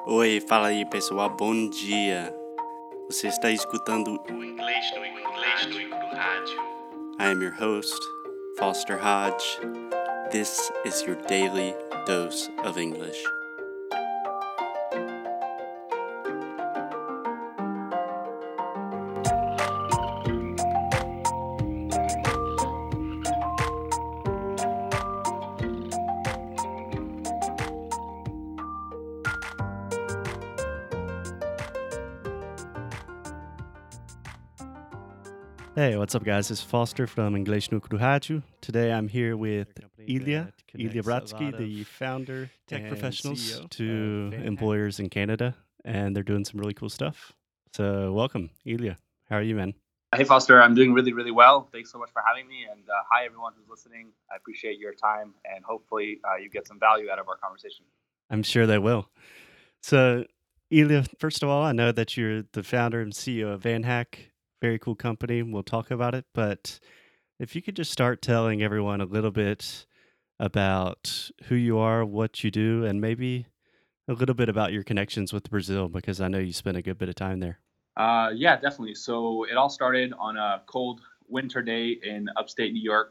Oi, fala aí pessoal, bom dia. Você está escutando o Inglês no Rádio. I am your host, Foster Hodge. This is your daily dose of English. Hey, what's up, guys? It's Foster from Inglês no Rádio. Today I'm here with Ilya Bratsky, the founder, tech professionals to employers in Canada, and they're doing some really cool stuff. So welcome, Ilya. How are you, man? Hey, Foster. I'm doing really, really well. Thanks so much for having me. And hi, everyone who's listening. I appreciate your time, and hopefully you get some value out of our conversation. I'm sure they will. So, Ilya, first of all, I know that you're the founder and CEO of VanHack. Very cool company. We'll talk about it. But if you could just start telling everyone a little bit about who you are, what you do, and maybe a little bit about your connections with Brazil, because I know you spent a good bit of time there. Yeah, definitely. So it all started on a cold winter day in upstate New York.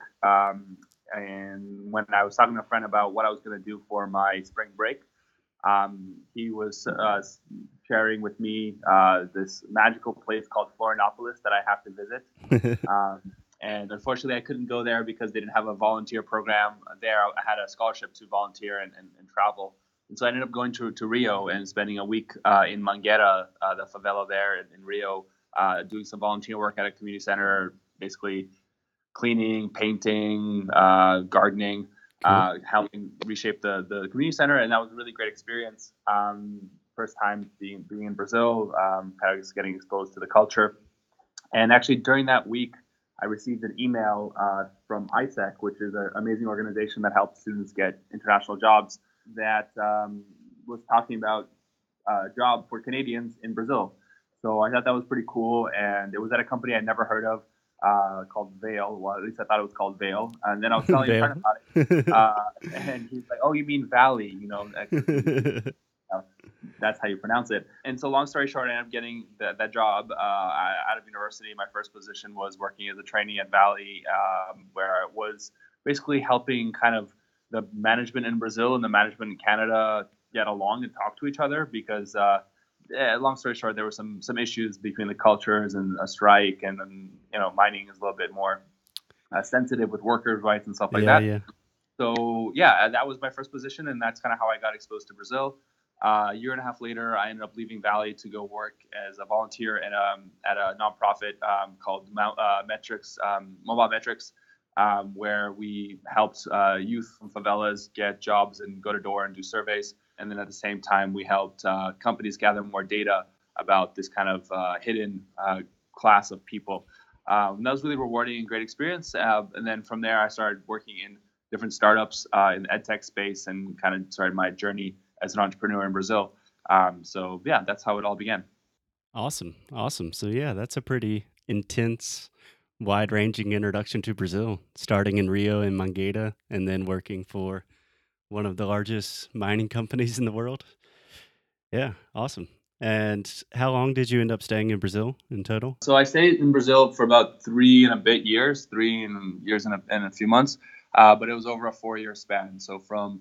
And when I was talking to a friend about what I was going to do for my spring break, he was sharing with me this magical place called Florianopolis that I have to visit. And unfortunately, I couldn't go there because they didn't have a volunteer program there. I had a scholarship to volunteer and travel. And so I ended up going to Rio and spending a week in Mangueira, the favela there in Rio, doing some volunteer work at a community center, basically cleaning, painting, gardening, helping reshape the community center. And that was a really great experience. First time being in Brazil, kind of just getting exposed to the culture. And actually during that week, I received an email from ISEC, which is an amazing organization that helps students get international jobs, that was talking about a job for Canadians in Brazil. So I thought that was pretty cool. And it was at a company I'd never heard of called Vail. Well, at least I thought it was called Vail. And then I was telling a friend about it. And he's like, oh, you mean Valley, that's how you pronounce it. And so long story short, I ended up getting that job out of university. My first position was working as a trainee at Valley, where I was basically helping kind of the management in Brazil and the management in Canada get along and talk to each other because, long story short, there were some issues between the cultures and a strike, and mining is a little bit more sensitive with workers' rights and stuff like that. Yeah. So that was my first position, and that's kind of how I got exposed to Brazil. A year and a half later, I ended up leaving Valley to go work as a volunteer at a nonprofit called Metrics, Mobile Metrics, where we helped youth from favelas get jobs and go to door and do surveys. And then at the same time, we helped companies gather more data about this kind of hidden class of people. That was really rewarding and great experience. And then from there, I started working in different startups in the edtech space and kind of started my journey as an entrepreneur in Brazil. That's how it all began. Awesome. So that's a pretty intense, wide-ranging introduction to Brazil, starting in Rio and Mangueira, and then working for one of the largest mining companies in the world. Yeah, awesome. And how long did you end up staying in Brazil in total? So I stayed in Brazil for about 3 years and a few months, but it was over a 4-year span. So from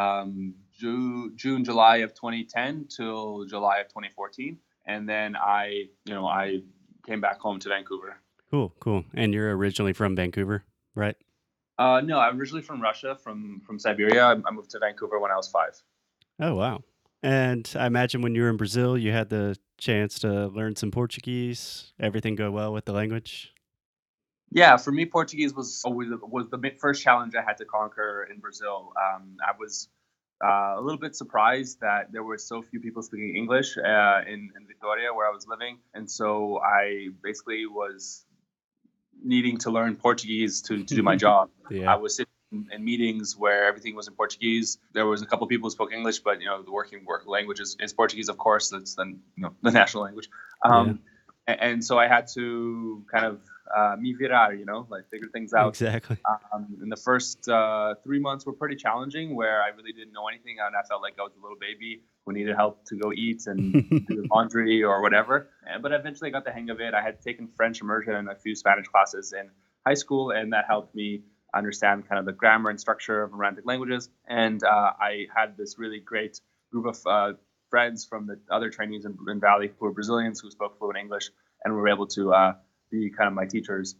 June, July of 2010 till July of 2014. And then I came back home to Vancouver. Cool. And you're originally from Vancouver, right? No, I'm originally from Russia, from Siberia. I moved to Vancouver when I was 5. Oh, wow. And I imagine when you were in Brazil, you had the chance to learn some Portuguese. Everything go well with the language? Yeah, for me, Portuguese was the first challenge I had to conquer in Brazil. I was a little bit surprised that there were so few people speaking English in Victoria, where I was living. And so I basically was needing to learn Portuguese to do my job. Yeah. I was sitting in meetings where everything was in Portuguese. There was a couple of people who spoke English, but the work language is Portuguese, of course. That's the national language. And so I had to kind of me virar, like figure things out. Exactly. In the first 3 months were pretty challenging, where I really didn't know anything, and I felt like I was a little baby who needed help to go eat and do laundry or whatever. But eventually, I got the hang of it. I had taken French immersion and a few Spanish classes in high school, and that helped me understand kind of the grammar and structure of Romantic languages. And I had this really great group of friends from the other trainees in Valley who were Brazilians who spoke fluent English, and were able to be kind of my teachers.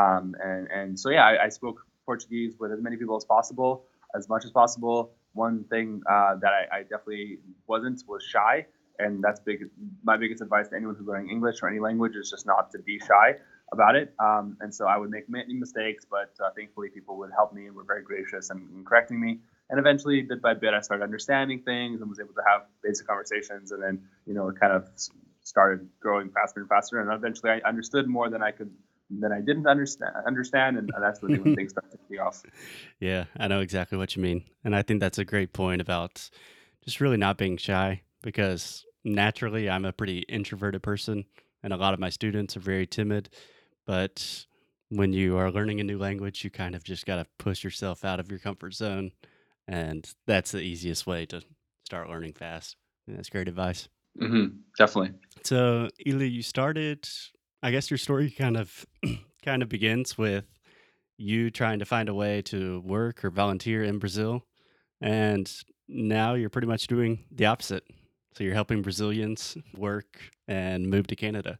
And so yeah, I spoke Portuguese with as many people as possible, as much as possible. One thing that I definitely wasn't was shy, and that's big. My biggest advice to anyone who's learning English or any language is just not to be shy about it. And so I would make many mistakes, but thankfully people would help me and were very gracious in correcting me. And eventually, bit by bit, I started understanding things and was able to have basic conversations. And then, it kind of started growing faster and faster. And eventually, I understood more than I didn't understand, and that's really when things started taking off. Yeah, I know exactly what you mean. And I think that's a great point about just really not being shy because naturally I'm a pretty introverted person and a lot of my students are very timid. But when you are learning a new language, you kind of just got to push yourself out of your comfort zone. And that's the easiest way to start learning fast. And that's great advice. Definitely. So, Ely, you started, I guess your story kind of kind of begins with you trying to find a way to work or volunteer in Brazil, and now you're pretty much doing the opposite. So you're helping Brazilians work and move to Canada.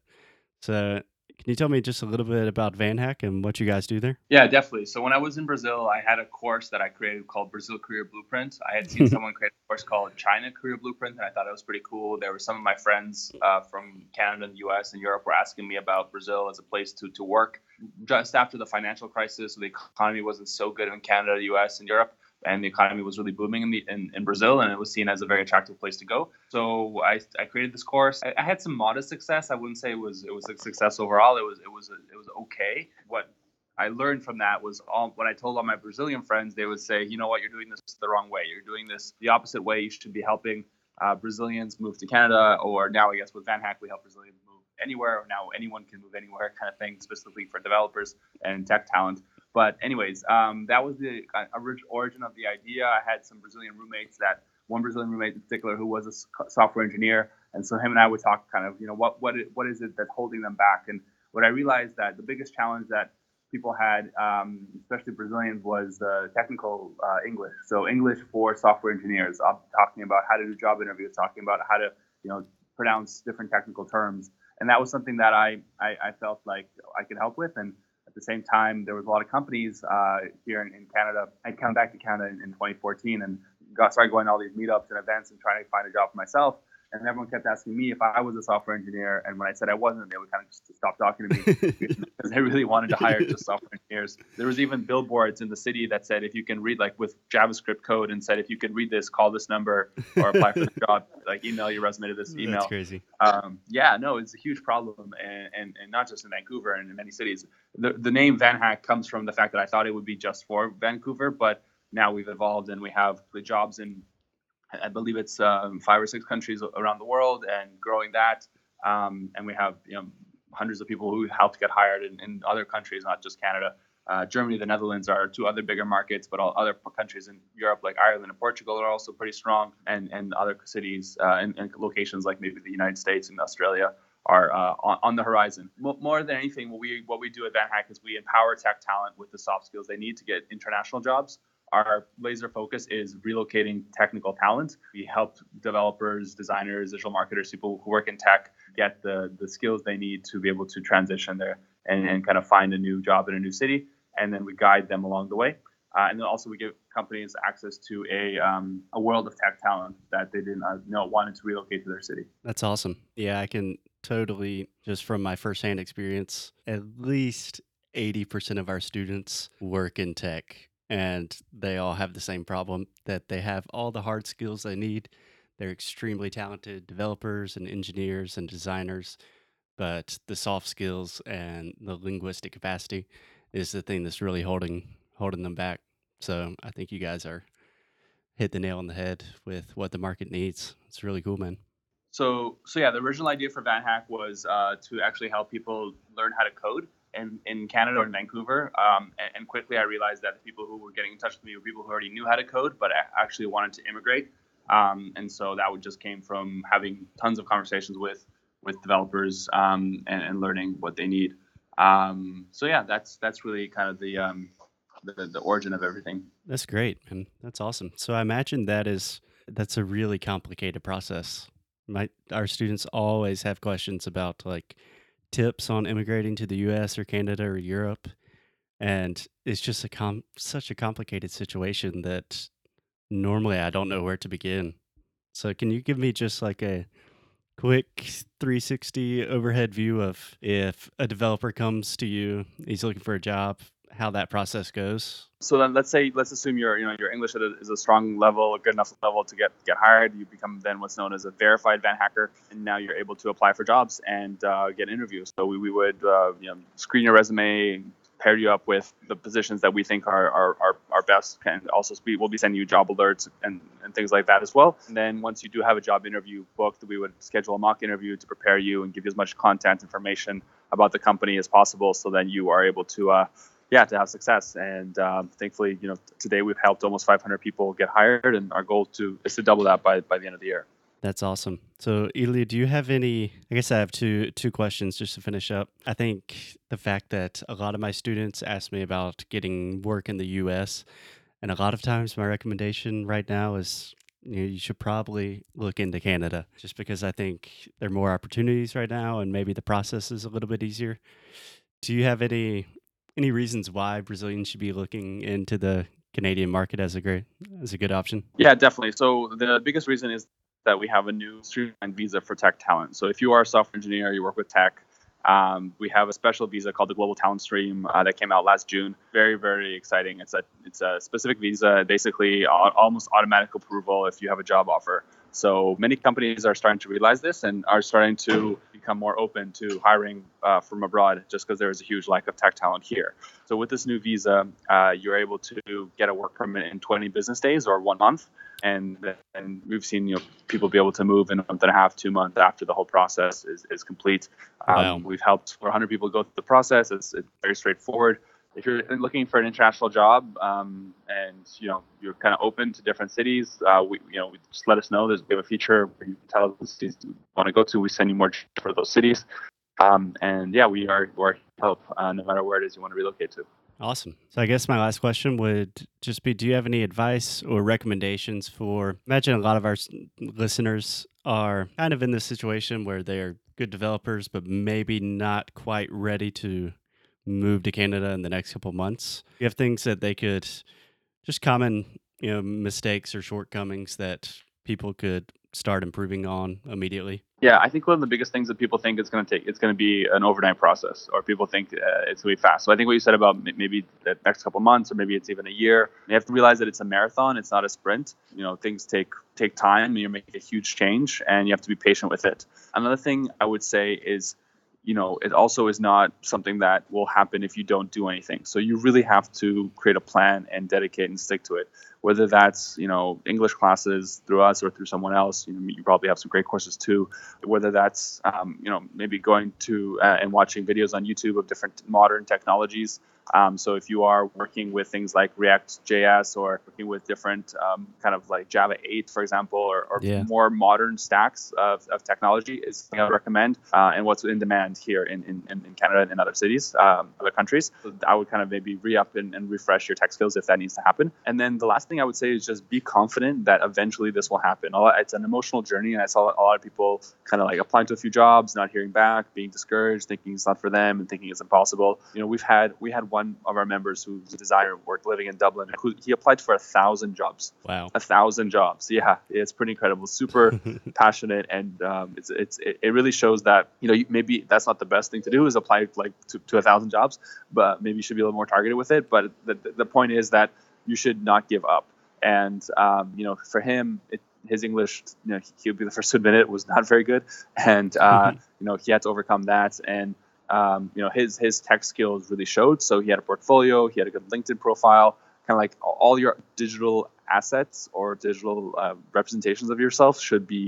So can you tell me just a little bit about VanHack and what you guys do there? Yeah, definitely. So when I was in Brazil, I had a course that I created called Brazil Career Blueprint. I had seen someone create a course called China Career Blueprint, and I thought it was pretty cool. There were some of my friends from Canada and the US and Europe were asking me about Brazil as a place to work. Just after the financial crisis, the economy wasn't so good in Canada, the US, and Europe, and the economy was really booming in Brazil, and it was seen as a very attractive place to go. So I created this course. I had some modest success. I wouldn't say it was a success overall. It was okay. What I learned from that was when I told all my Brazilian friends, they would say, you know what, you're doing this the wrong way. You're doing this the opposite way. You should be helping Brazilians move to Canada, or now I guess with VanHack, we help Brazilians move anywhere. Or now anyone can move anywhere, kind of thing, specifically for developers and tech talent. But anyways, that was the origin of the idea. I had some Brazilian roommates one Brazilian roommate in particular who was a software engineer, and so him and I would talk kind of, what is it that's holding them back? And what I realized that the biggest challenge that people had, especially Brazilians, was technical English. So English for software engineers, talking about how to do job interviews, talking about how to pronounce different technical terms, and that was something that I felt like I could help with. And at the same time, there was a lot of companies here in Canada. I'd come back to Canada in 2014 and started going to all these meetups and events and trying to find a job for myself. And everyone kept asking me if I was a software engineer. And when I said I wasn't, they would kind of just stop talking to me because they really wanted to hire just software engineers. There was even billboards in the city that said, if you can read, like with JavaScript code, and said, if you can read this, call this number or apply for the job, like email your resume to this email. That's crazy. Yeah, no, it's a huge problem. And not just in Vancouver and in many cities. The name VanHack comes from the fact that I thought it would be just for Vancouver, but now we've evolved and we have the jobs in, I believe it's 5 or 6 countries around the world, and growing that. And we have hundreds of people who helped get hired in other countries, not just Canada. Germany, the Netherlands are 2 other bigger markets, but all other countries in Europe, like Ireland and Portugal, are also pretty strong. And other cities and locations like maybe the United States and Australia are on the horizon. More than anything, what we do at VanHack is we empower tech talent with the soft skills they need to get international jobs. Our laser focus is relocating technical talent. We help developers, designers, digital marketers, people who work in tech get the skills they need to be able to transition there and kind of find a new job in a new city. And then we guide them along the way. And then also we give companies access to a world of tech talent that they didn't wanted to relocate to their city. That's awesome. Yeah, I can totally, just from my firsthand experience, at least 80% of our students work in tech, and they all have the same problem that they have all the hard skills they need. They're extremely talented developers and engineers and designers, but the soft skills and the linguistic capacity is the thing that's really holding them back. So I think you guys are hit the nail on the head with what the market needs. It's really cool, man. So yeah, the original idea for VanHack was to actually help people learn how to code. in Canada or in Vancouver. And quickly I realized that the people who were getting in touch with me were people who already knew how to code, but actually wanted to immigrate. And so that just came from having tons of conversations with developers, and learning what they need. So yeah, that's really kind of the origin of everything. That's great, and that's awesome. So I imagine that's a really complicated process. Our students always have questions about like tips on immigrating to the US or Canada or Europe, and it's just such a complicated situation that normally I don't know where to begin. So can you give me just like a quick 360 overhead view of if a developer comes to you, he's looking for a job, how that process goes? So then let's assume your English is a strong level, a good enough level to get hired. You become then what's known as a verified Van Hacker, and now you're able to apply for jobs and get interviews. So we would screen your resume, pair you up with the positions that we think are best, and also we'll be sending you job alerts and things like that as well. And then once you do have a job interview booked, we would schedule a mock interview to prepare you and give you as much content information about the company as possible, so then you are able to to have success. And thankfully, today we've helped almost 500 people get hired, and our goal is to double that by the end of the year. That's awesome. So, Ilya, do you have any? I guess I have two questions just to finish up. I think the fact that a lot of my students ask me about getting work in the U.S., and a lot of times my recommendation right now is you should probably look into Canada, just because I think there are more opportunities right now, and maybe the process is a little bit easier. Do you have any reasons why Brazilians should be looking into the Canadian market as a good option? Yeah, definitely. So the biggest reason is that we have a new streamlined visa for tech talent. So if you are a software engineer, you work with tech, we have a special visa called the Global Talent Stream that came out last June. Very, very exciting. It's a specific visa, basically almost automatic approval if you have a job offer. So many companies are starting to realize this and are starting to become more open to hiring from abroad, just because there is a huge lack of tech talent here. So with this new visa, you're able to get a work permit in 20 business days or 1 month. And we've seen people be able to move in a month and a half, 2 months after the whole process is complete. Wow. We've helped 400 people go through the process. It's very straightforward. If you're looking for an international job, and you're kind of open to different cities, we just let us know. We have a feature where you can tell us the cities you want to go to. We send you more for those cities, and yeah, we're help no matter where it is you want to relocate to. Awesome. So I guess my last question would just be, do you have any advice or recommendations for, imagine a lot of our listeners are kind of in this situation where they're good developers, but maybe not quite ready to move to Canada in the next couple months. You have things that they could just common, mistakes or shortcomings that people could start improving on immediately? Yeah, I think one of the biggest things that people think it's going to be an overnight process, or people think it's going to be fast. So I think what you said about maybe the next couple months, or maybe it's even a year, you have to realize that it's a marathon. It's not a sprint. Things take time, and you're making a huge change, and you have to be patient with it. Another thing I would say is, it also is not something that will happen if you don't do anything. So you really have to create a plan and dedicate and stick to it. Whether that's, English classes through us or through someone else, you probably have some great courses too. Whether that's, maybe going to and watching videos on YouTube of different modern technologies. So if you are working with things like React.js or working with different kind of like Java 8, for example, or Yeah. more modern stacks of technology is something I would recommend, and what's in demand here in Canada and in other cities, other countries. So I would kind of maybe re-up and refresh your tech skills if that needs to happen. And then the last thing I would say is just be confident that eventually this will happen. It's an emotional journey, and I saw a lot of people kind of like applying to a few jobs, not hearing back, being discouraged, thinking it's not for them, and thinking it's impossible. We had one of our members who's a designer, living in Dublin, who he applied for 1,000 jobs. Wow. 1,000 jobs. Yeah, it's pretty incredible. Super passionate, and it really shows that maybe that's not the best thing to do is apply like to 1,000 jobs, but maybe you should be a little more targeted with it. But the point is that you should not give up. And for him, his English, he would be the first to admit it, was not very good, and he had to overcome that. And his tech skills really showed. So he had a portfolio, he had a good LinkedIn profile, kind of like all your digital assets or digital representations of yourself should be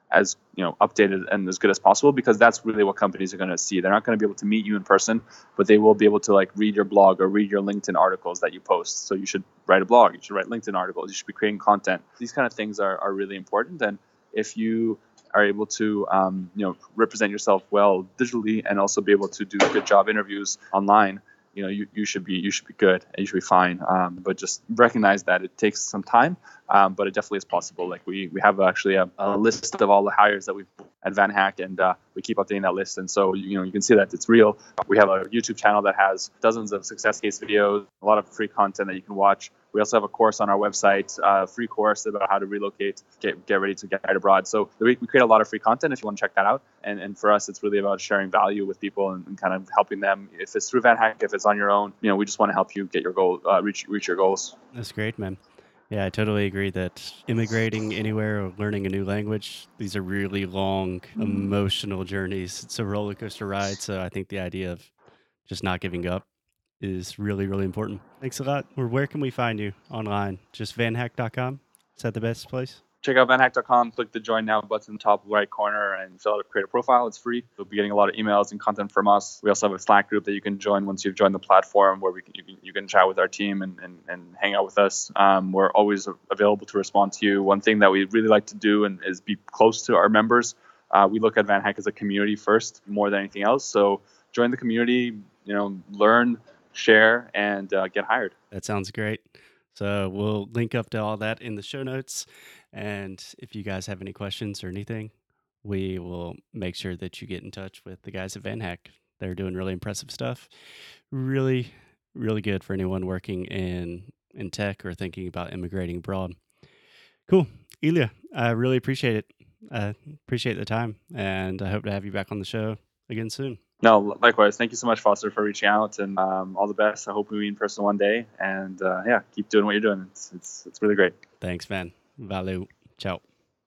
as updated and as good as possible, because that's really what companies are going to see. They're not going to be able to meet you in person, but they will be able to read your blog or read your LinkedIn articles that you post. So you should write a blog, you should write LinkedIn articles, you should be creating content. These kind of things are really important. And if you are able to represent yourself well digitally and also be able to do good job interviews online, you should be good and you should be fine. But just recognize that it takes some time, but it definitely is possible. We have actually a list of all the hires that we've at VanHack, and we keep updating that list. And so you can see that it's real. We have a YouTube channel that has dozens of success case videos, a lot of free content that you can watch. We also have a course on our website, a free course about how to relocate, get ready to get hired abroad. So we create a lot of free content if you want to check that out. And for us, it's really about sharing value with people and kind of helping them. If it's through VanHack, if it's on your own, we just want to help you get your goal, reach your goals. That's great, man. Yeah, I totally agree that immigrating anywhere or learning a new language, these are really long, emotional journeys. It's a roller coaster ride. So I think the idea of just not giving up is really, really important. Thanks a lot. Where can we find you online? Just vanhack.com? Is that the best place? Check out vanhack.com, click the join now button in the top right corner and fill out a create a profile. It's free. You'll be getting a lot of emails and content from us. We also have a Slack group that you can join once you've joined the platform, where you can chat with our team and hang out with us. We're always available to respond to you. One thing that we really like to do is be close to our members. We look at VanHack as a community first more than anything else. So join the community, learn, share, and get hired. That sounds great. So we'll link up to all that in the show notes. And if you guys have any questions or anything, we will make sure that you get in touch with the guys at VanHack. They're doing really impressive stuff. Really, really good for anyone working in tech or thinking about immigrating abroad. Cool. Ilya, I really appreciate it. I appreciate the time, and I hope to have you back on the show again soon. No, likewise. Thank you so much, Foster, for reaching out, and all the best. I hope we meet in person one day, and keep doing what you're doing. It's really great. Thanks, man. Valeu. Ciao.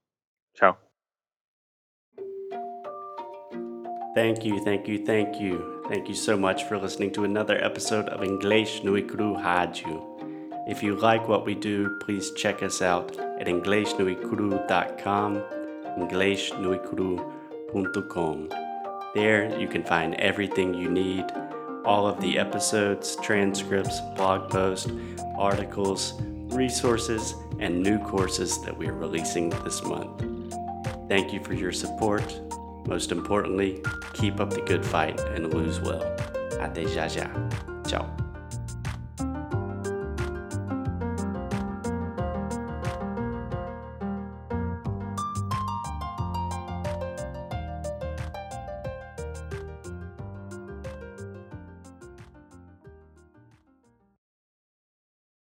Ciao. Thank you. Thank you so much for listening to another episode of Inglês no Icru Rádio. If you like what we do, please check us out at inglesnoicru.com, inglesnoicru.com. There you can find everything you need, all of the episodes, transcripts, blog posts, articles, resources, and new courses that we are releasing this month. Thank you for your support. Most importantly, keep up the good fight and lose well. Até já já. Ciao.